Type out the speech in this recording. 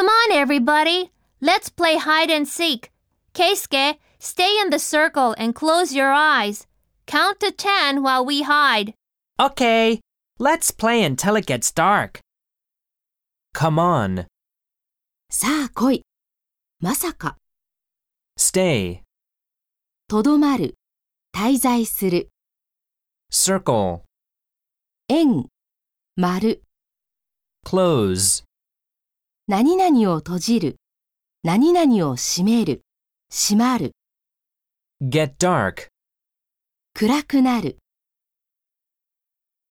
Come on, everybody. Let's play hide and seek. Keisuke, stay in the circle and close your eyes. Count to 10 while we hide. Okay, let's play until it gets dark. Come on. さあ来い。まさか。 Stay. とどまる。滞在する。 Circle. 円。丸。 Close. 何々を閉じる。何々を閉める。閉まる。 Get dark. 暗くなる。